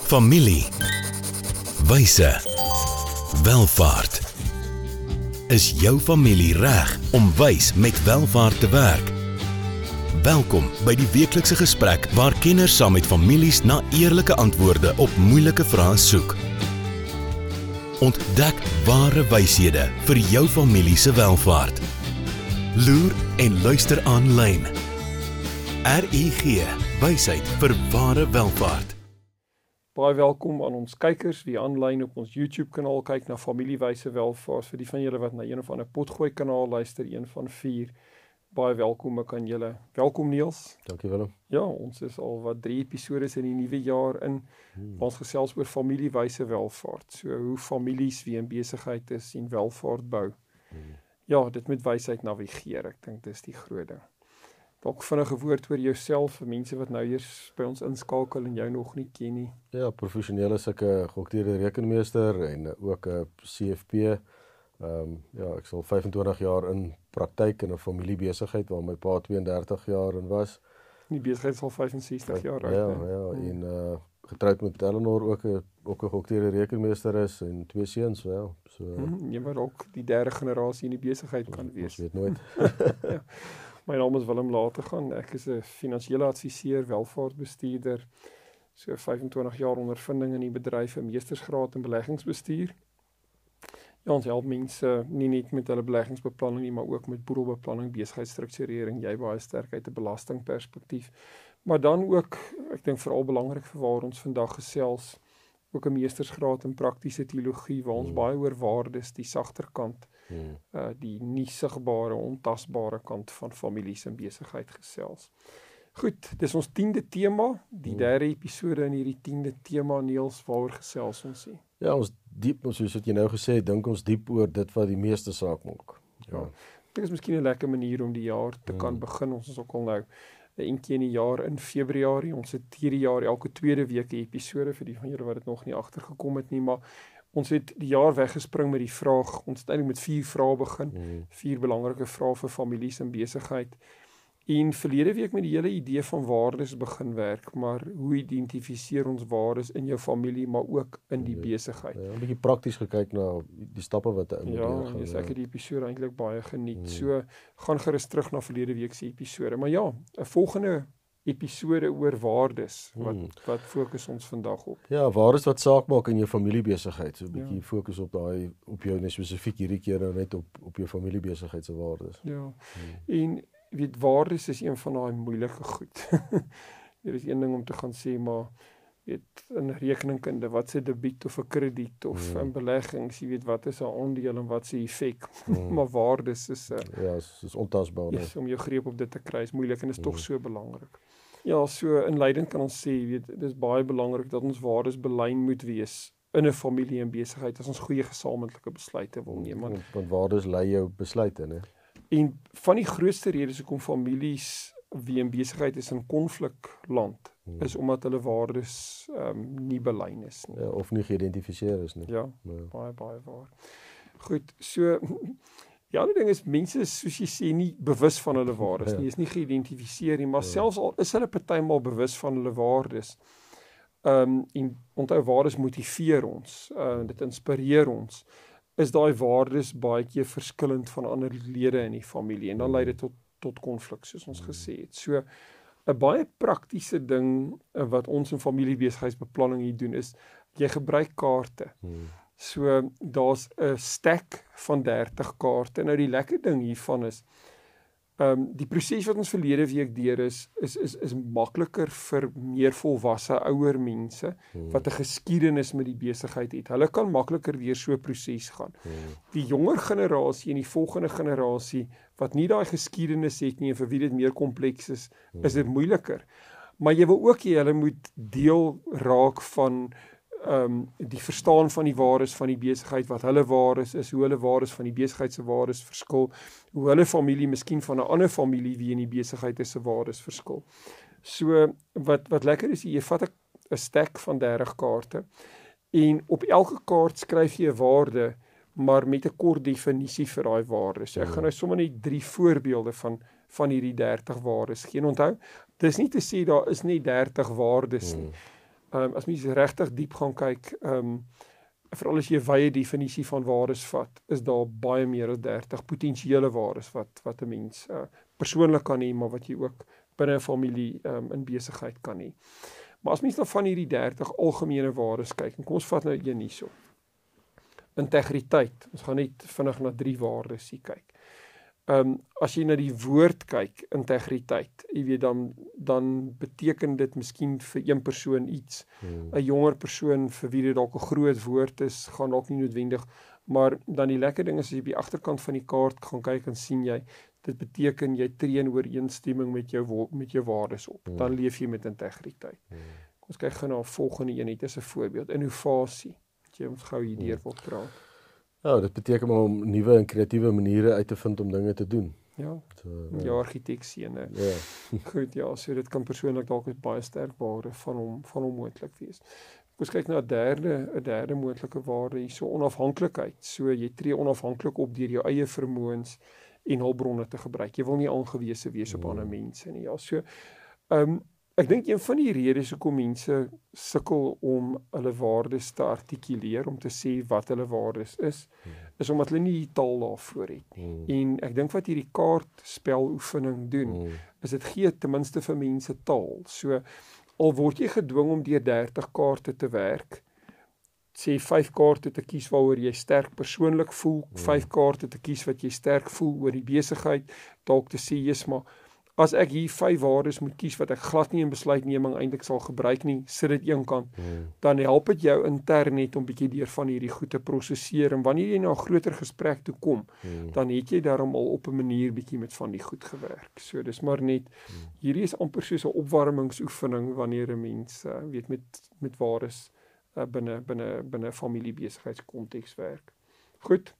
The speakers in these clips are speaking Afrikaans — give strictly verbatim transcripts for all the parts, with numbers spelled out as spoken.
Familie, wyse, welvaart. Is jou familie reg om wys met welvaart te werk? Welkom by die weeklikse gesprek waar kenners saam met families na eerlike antwoorde op moeilike vrae soek. Ontdek ware wyshede vir jou familie se welvaart. Loer en luister aanlyn. R I G, wysheid vir ware welvaart. Baie welkom aan ons kykers wie aanlyn op ons YouTube kanaal kyk na familiewyse welvaart. Vir die van julle wat na een of ander potgooi kanaal luister, een van vier. Baie welkom ook aan julle. Welkom Niels. Dankie Willem. Ja, ons is al wat drie episodes in die nuwe jaar in. Hmm. Ons gesels oor familiewyse welvaart. So hoe families wie in besigheid is en welvaart bou. Hmm. Ja, dit met wysheid navigeer. Ek dink dis die groot ding. Dalk vinnige woord oor jouself vir mense wat nou eers by ons inskakel en jou nog nie ken nie. Ja, professioneel is ek 'n geokteerde rekenmeester en ook 'n C F P. Ehm um, ja, ek sal vyfentwintig jaar in praktyk in 'n familiebesigheid waar my pa tweeëndertig jaar in was. Die besigheid is al vyfensestig jaar oud. Ja, ja, ja, en uh, getroud met Eleanor ook 'n ook 'n geokteerde rekenmeester is en twee seuns wel. So hmm, jy moet ook die derde generasie in die besigheid kan wees. Ons weet nooit. Ja. My naam is Willem Lategan, ek is 'n finansiële adviseur, welvaartbestuurder, so vyfentwintig jaar ondervinding in die bedryf, 'n meestersgraad in beleggingsbestuur. Ja, ons help mense nie net met hulle beleggingsbeplanning nie, maar ook met boedelbeplanning, besigheidsstrukturering, jy baie sterk uit 'n belastingperspektief. Maar dan ook, ek dink veral belangrik vir waar ons vandag gesels, ook 'n meestersgraad in praktiese teologie, waar ons hmm. baie oor waardes, die sagter kant, Hmm. Uh, die nie sigbare, ontasbare kant van families en besigheid gesels. Goed, dis ons tiende tema, die hmm. derde episode in hierdie tiende tema, Niels, waaroor gesels ons hier? Ja, ons diep, soos wat jy nou gesê het, dink ons diep oor dit wat die meeste saak maak. Ja, ja. Dit is miskien 'n lekker manier om die jaar te hmm. kan begin. Ons is ook al nou 'n keer in die jaar in Februarie. Ons het hierdie jaar elke tweede week 'n episode vir die van julle wat dit nog nie agtergekom het nie, maar ons het die jaar weggespring met die vraag, ons het eintlik met vier vrae begin, mm. vier belangrike vrae vir families en besigheid. En verlede week met die hele idee van waardes begin werk, maar hoe identifiseer ons waardes in jou familie, maar ook in die besigheid. Ja, 'n bietjie prakties gekyk na die stappe wat jy moet ja, doen. Ja, ek het die episode eintlik baie geniet. Mm. So, gaan gerus terug na verlede week se episode. Maar ja, 'n volgende episode oor waardes, wat, hmm. wat fokus ons vandag op? Ja, waardes wat saak maak in jou familiebesigheid, so 'n bietjie ja. fokus op daai, op jou net spesifiek hierdie keer nou net op, op jou familiebesigheid se waardes. Ja, hmm. en weet, waardes is een van daai moeilike goed. Dit is een ding om te gaan sê, maar weet, in rekeningkunde, wat se debiet of 'n krediet, of hmm. in beleggings, jy weet, wat is 'n aandeel en wat se effek, hmm. maar waardes is, uh, ja, is, is ontasbaar. Yes, om jou greep op dit te kry is moeilik en is hmm. tog so belangrik. Ja, so inleidend kan ons sê, weet, dit is baie belangrik dat ons waardes belyn moet wees in 'n familie en besigheid as ons goeie gesamentlike besluite wil neem. Want, want waardes lei jou besluite, né? En van die grootste redes hoekom families wie in besigheid is in konflikland, hmm. is omdat hulle waardes um, nie belyn is nie. Ja, of nie geïdentifiseer is nie. Ja, ja, baie, baie waar. Goed, so die ander ding is, mense is, soos jy sê, nie bewus van hulle waardes ja. nie, is nie geïdentifiseer nie, maar ja. selfs al is hulle partymal bewus van hulle waardes, um, en onthou waardes motiveer ons, uh, dit inspireer ons, is daai waardes baie keer verskillend van ander lede in die familie, en dan lei dit tot, tot konflik, soos ons gesê het. So, 'n baie praktiese ding, uh, wat ons in familiebesigheidsbeplanning hier doen, is, jy gebruik kaarte, hmm. So, daar's 'n stack van dertig kaarte. Nou die lekker ding hiervan is, um, die proses wat ons verlede week deur is, is, is, is makliker vir meer volwasse ouer mense, hmm. wat 'n geskiedenis met die besigheid het. Hulle kan makliker deur so 'n proses gaan. Hmm. Die jonger generasie en die volgende generasie, wat nie daai geskiedenis het nie, en vir wie dit meer kompleks is, hmm. is dit moeiliker. Maar jy wil ook hê hulle moet deel raak van Um, die verstaan van die waardes van die besigheid, wat hulle waardes is, hoe hulle waardes van die besigheid se waardes verskil, hoe hulle familie miskien van 'n ander familie wie in die besigheid is se waardes verskil. So, wat, wat lekker is, jy vat 'n stack van dertig kaarte, en op elke kaart skryf jy 'n waarde, maar met 'n kort definisie vir daai waardes. So, ek gaan nou sommer net drie voorbeelde van, van hierdie dertig waardes gee. En onthou, dis nie te sê daar is net dertig waardes nie. Um, as mens regtig diep gaan kyk, um, veral as jy 'n wye definisie van waardes vat, is daar baie meer as dertig potensiële waardes wat wat 'n mens uh, persoonlik kan hê, maar wat jy ook binne 'n familie um, in besigheid kan hê. Maar as mens dan van hierdie dertig algemene waardes kyk, en kom ons vat nou een hierso. Integriteit. Ons gaan net vinnig na drie waardes hier kyk. Um, as jy na die woord kyk, integriteit, jy weet, dan, dan beteken dit miskien vir een persoon iets. Hmm. 'n Jonger persoon vir wie dit dalk 'n groot woord is, gaan dalk nie noodwendig, maar dan die lekker ding is, as jy op die agterkant van die kaart gaan kyk, en sien jy, dit beteken jy tree in ooreenstemming met jou, met jou waardes op. Hmm. Dan leef jy met integriteit. Hmm. Kom ons kyk gou na 'n volgende een, net as 'n voorbeeld. Innovasie. Wat jy ons gou hierdeur wil praat. Ja, dit beteken maar om nuwe en kreatiewe maniere uit te vind om dinge te doen. Ja, so, ja, ja argitektsene. Ja. Goed, ja, so dit kan persoonlik dalk 'n baie sterk waarde van hom van hom moontlik wees. Ons kyk na 'n derde 'n derde moontlike waarde hier, so onafhanklikheid. So jy tree onafhanklik op deur jou eie vermoëns en hulpbronne te gebruik. Jy wil nie aangewese wees op ja. ander mense nie. Ja, so ehm um, ek dink een van die redes hoekom mense sukkel om hulle waardes te artikuleer, om te sê wat hulle waardes is, hmm. is omdat hulle nie die taal daarvoor het nie. Hmm. En ek dink wat hierdie kaartspeloefening doen, hmm. is dit gee ten minste vir mense taal. So al word jy gedwing om deur dertig kaarte te werk, sê vyf kaarte te kies waaroor jy sterk persoonlik voel, hmm. vyf kaarte te kies wat jy sterk voel oor die besigheid, dalk te sê jy's maar as ek hier vyf waardes moet kies wat ek glad nie in besluitneming eintlik sal gebruik nie, sit dit een kant, hmm. dan help dit jou intern net om bietjie deur van hierdie goed te prosesseer, en wanneer jy na 'n groter gesprek toe kom, hmm. dan het jy daarom al op 'n manier bietjie met van die goed gewerk. So dis maar net, hmm. hierdie is amper soos 'n opwarmingsoefening wanneer 'n mens uh, weet met met waardes uh, binne binne binne familiebesigheidskonteks werk. Goed.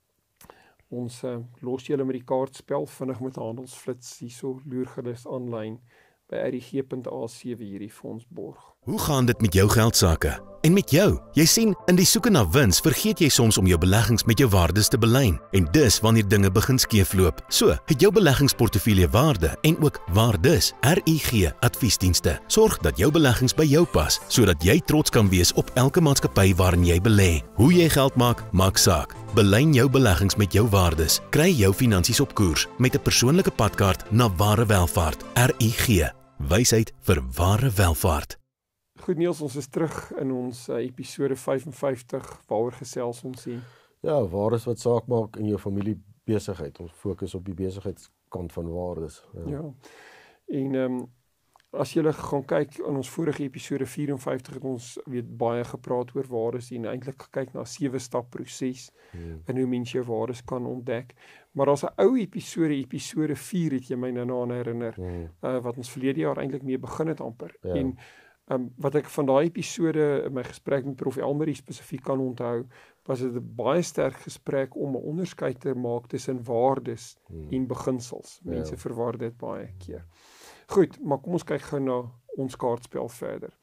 Ons uh, los julle met die kaartspel vinnig met handelsflits hierso loergerus aanlyn by r i g punt a c wie hierdie vir ons borg. Hoe gaan dit met jou geldsaake? En met jou? Jy sien, in die soeke na wins vergeet jy soms om jou beleggings met jou waardes te belyn. En dis wanneer dinge begin skeefloop. So, het jou beleggingsportefeulje waarde en ook waardes. R I G Adviesdienste. Sorg dat jou beleggings by jou pas, sodat jy trots kan wees op elke maatskappy waarin jy belê. Hoe jy geld maak, maak saak. Belyn jou beleggings met jou waardes. Kry jou finansies op koers met 'n persoonlike padkaart na ware welvaart. R I G. Wysheid vir ware welvaart. Goed Niels, ons is terug in ons uh, episode vyf en vyftig, waaroor gesels ons hier? Ja, waardes wat saak maak in jou familiebesigheid. Ons fokus op die besigheidskant van waardes. Ja, ja. En um, as jy gaan kyk in ons vorige episode vyf en vyftig het ons weet baie gepraat oor waardes en eintlik gekyk na 'n sewe stap proses hmm. en hoe mens jou waardes kan ontdek. Maar daar's 'n ou episode, episode vier het jy my nou aan herinner, hmm. uh, wat ons verlede jaar eintlik mee begin het amper. Ja. En Um, wat ek van daai episode in my gesprek met Prof Elmarie spesifiek kan onthou, was dit 'n baie sterk gesprek om 'n onderskeid te maak tussen waardes hmm. en beginsels. Mense ja. verwar dit baie keer. Goed, maar kom ons kyk gou na ons kaartspel verder.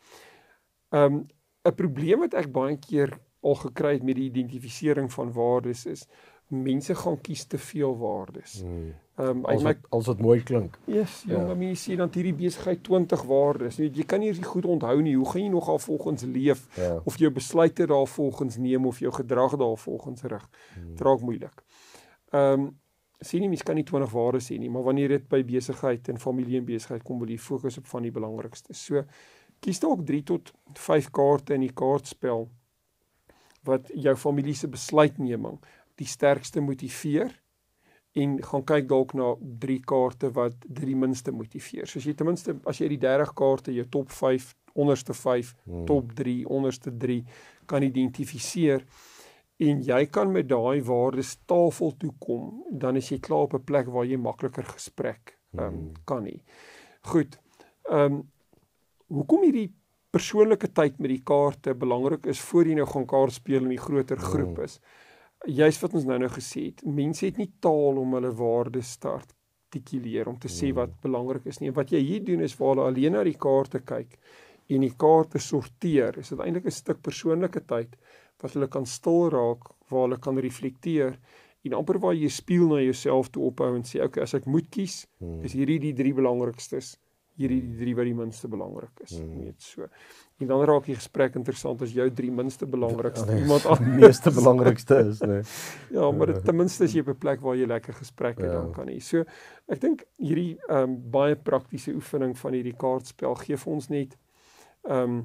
Um, 'n probleem wat ek baie keer al gekry het met die identifisering van waardes is, mense gaan kies te veel waardes. Hmm. Um, als, het, als het mooi klink. Yes, ja, maar jy sê dan hierdie besigheid twintig waardes. Jy, jy kan nie eens goed onthou nie. Hoe gaan jy nogal volgens leef? Ja. Of jou besluite daar volgens neem of jou gedrag daar volgens rig? Hmm. Dit raak moeilik. Ehm um, sien nie mens kan nie twintig waardes hê nie, maar wanneer dit by besigheid en familie en besigheid kom, wil jy fokus op van die belangrikste. So kies dalk drie tot vyf kaarte in die kaartspel wat jou familie se besluitneming die sterkste motiveer, en gaan kyk dalk na drie kaarte wat drie minste motiveer. So as jy ten minste, as jy die dertig kaarte, jou top vyf, onderste vyf, hmm. top drie, onderste drie, kan identifiseer, en jy kan met daai waardes tafel toe kom, dan is jy klaar op 'n plek waar jy makliker gesprek um, hmm. kan hê. Goed, um, hoekom hierdie persoonlike tyd met die kaarte belangrik is, voor jy nou gaan kaart speel in die groter groep is, juist wat ons nou nou gesê het, mense het nie taal om hulle waardes te artikuleer, om te sê wat belangrik is nie. En wat jy hier doen is, waar hulle alleen na die kaarte kyk, en die kaarte sorteer, is dit eintlik 'n stuk persoonlike tyd, wat hulle kan stil raak, waar hulle kan reflekteer, en amper waar jy spieël na jouself toe ophou, en sê, ok, as ek moet kies, is hierdie die drie belangrikstes, hierdie die drie wat die minste belangrik is. Hmm. Weet so. En dan raak die gesprek interessant as jou drie minste belangrikste ja, nee, iemand aan die meeste belangrikste is, nee. Ja, maar dit, ten minste is jy op 'n plek waar jy lekker gesprekke ja. dan kan hê. So ek dink hierdie um, baie praktiese oefening van hierdie kaartspel gee vir ons net um,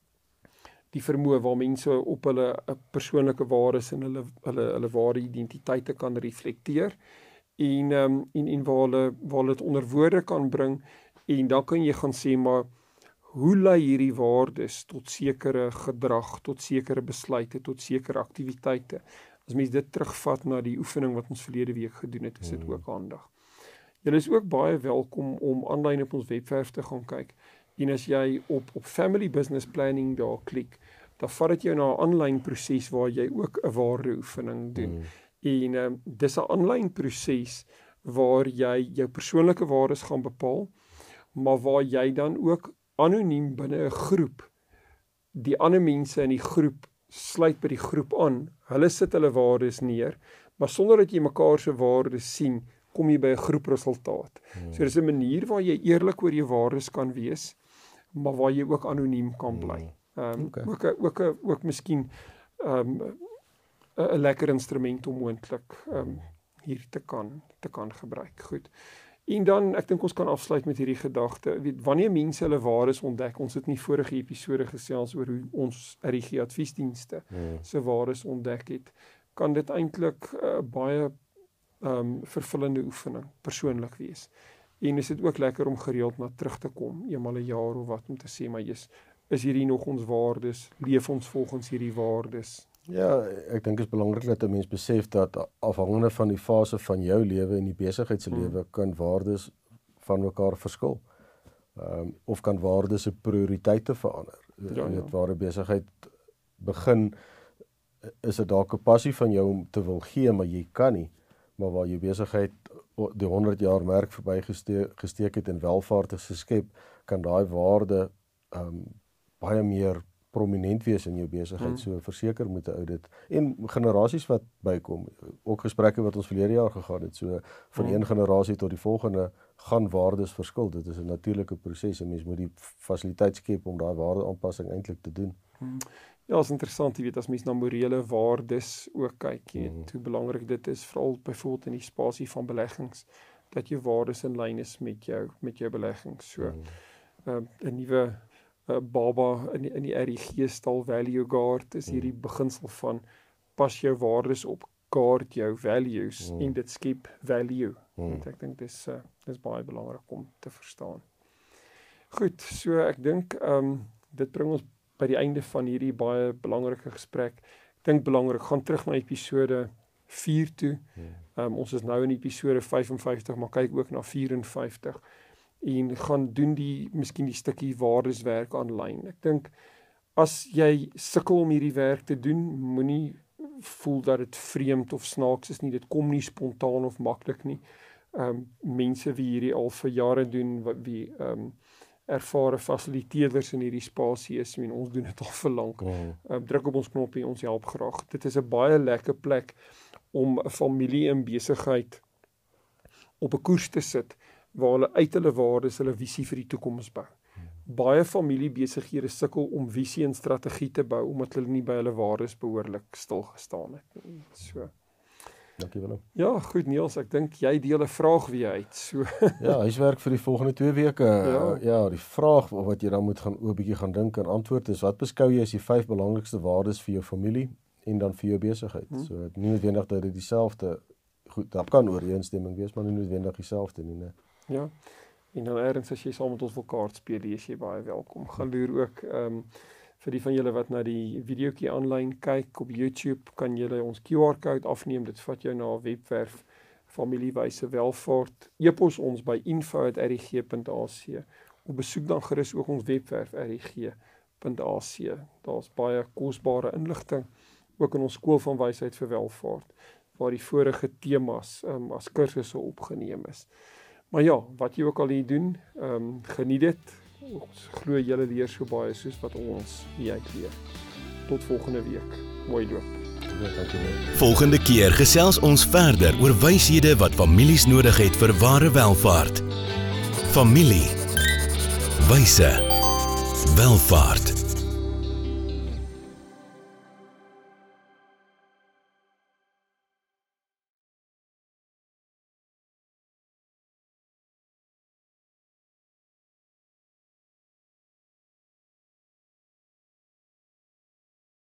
die vermoë waar mense op hulle persoonlike waardes en hulle hulle hulle ware identiteite kan reflekteer en um, en en waar hulle waar hulle dit onder woorde kan bring en dan kan jy gaan sê maar hoe lei hierdie waardes tot sekere gedrag, tot sekere besluite, tot sekere aktiwiteite. As mens dit terugvat na die oefening wat ons verlede week gedoen het, is dit ook handig. Julle is ook baie welkom om aanlyn op ons webwerf te gaan kyk. En as jy op op Family Business Planning daar klik, dan vat dit jou na 'n aanlyn proses waar jy ook 'n waardeoefening doen. Mm. En um, dis 'n aanlyn proses waar jy jou persoonlike waardes gaan bepaal, maar waar jy dan ook anoniem binne 'n groep, die ander mense in die groep sluit by die groep aan, hulle sit hulle waardes neer, maar sonder dat jy mekaar se waardes sien, kom jy by 'n groepresultaat. Hmm. So dis 'n manier waar jy eerlik oor jou waardes kan wees, maar waar jy ook anoniem kan bly. Um, okay. Ook ook ook, ook miskien um, 'n lekker instrument om moontlik um, hier te kan te kan gebruik. Goed. En dan, ek dink ons kan afsluit met hierdie gedagte, weet, wanneer mense hulle waardes ontdek, ons het nie vorige episode gesels oor hoe ons R G adviesdienste hmm. se waardes ontdek het, kan dit eintlik uh, baie um, vervullende oefening, persoonlik wees. En is dit ook lekker om gereeld na terug te kom, eenmal 'n jaar of wat, om te sê, maar jy's, is hierdie nog ons waardes, leef ons volgens hierdie waardes? Ja, ek dink dit is belangrik dat 'n mens besef dat afhangende van die fase van jou lewe en die besigheidslewe hmm. kan waardes van mekaar verskil. Um, of kan waardes se prioriteite verander. Ja, en dit ja. waar 'n besigheid begin, is dit dalk 'n passie van jou om te wil gee, maar jy kan nie. Maar waar jou besigheid die honderd jaar merk verby geste gesteek het en welvaart geskep, kan daai waarde um, baie meer prominent wees in jou besigheid, hmm. so verseker moet 'n audit, en generasies wat bykom, ook gesprekke wat ons verlede jaar gegaan het, so van hmm. een generasie tot die volgende, gaan waardes verskil, dit is 'n natuurlike proses, en mens moet die fasiliteit skep om daai waardeaanpassing eintlik te doen. Hmm. Ja, is interessant, jy weet, as mens na morele waardes ook kyk, jy weet, hmm. hoe belangrik dit is, veral byvoorbeeld in die spasie van beleggings, dat jou waardes in lyn is met jou, met jou beleggings, so, hmm. uh, 'n nuwe Uh, baba in die, in die R I G-stal Value Guard is hierdie beginsel van pas jou waardes op, guard jou values mm. en dit skep value. Mm. Ek dink dis uh, dis baie belangrik om te verstaan. Goed, so ek dink um, dit bring ons by die einde van hierdie baie belangrike gesprek. Ek dink belangrik, gaan terug na episode vier toe. Mm. Um, ons is nou in episode vyf en vyftig, maar kyk ook na vyf en vyftig. En gaan doen die, miskien die stukkie waardeswerk aanlyn. Ek dink, as jy sukkel om hierdie werk te doen, moenie voel dat dit vreemd of snaaks is nie, dit kom nie spontaan of maklik nie. Um, mense wie hierdie al vir jare doen, wie um, ervare fasiliteerders in hierdie spasie is, en ons doen dit al vir lank. Mm. Um, druk op ons knoppie, ons help graag. Dit is 'n baie lekker plek om 'n familie en besigheid op 'n koers te sit, waar hulle uit hulle waardes, hulle visie vir die toekoms bou. Hmm. Baie familiebesighede sukkel om visie en strategie te bou, omdat hulle nie by hulle waardes behoorlik stilgestaan het. So. Dankie Willem. Ja, goed Niels, ek dink jy deel 'n vraag weer uit. So. Ja, huiswerk vir die volgende twee weke. Ja. ja, die vraag wat jy dan moet gaan 'n bietjie gaan dink en antwoord is, wat beskou jy as die vyf belangrikste waardes vir jou familie en dan vir jou besigheid? Hmm. So nie noodwendig dat dit dieselfde, goed, dat kan ooreenstemming wees, maar nie noodwendig dieselfde nie, nee. Ja, en dan ergens as jy saam met ons wil kaart speel, is jy baie welkom. Gaan loer ook, um, vir die van julle wat na die videoetjie aanlyn kyk op YouTube, kan julle ons Q R-code afneem, dit vat jou na 'n webwerf, Familiewyse Welvaart, e-pos ons by info at r i g punt a c, of besoek dan gerus ook ons webwerf r i g punt a c, daar's baie kosbare inligting, ook in ons skool van wysheid vir welvaart, waar die vorige temas um, as kursusse opgeneem is. Maar ja, wat jy ook al hier doen, um, geniet dit. Ons glo julle leer so baie soos wat ons hier uitleer. Tot volgende week. Mooi loop. Volgende keer gesels ons verder oor wyshede wat families nodig het vir ware welvaart. Familie. Wyse. Welvaart.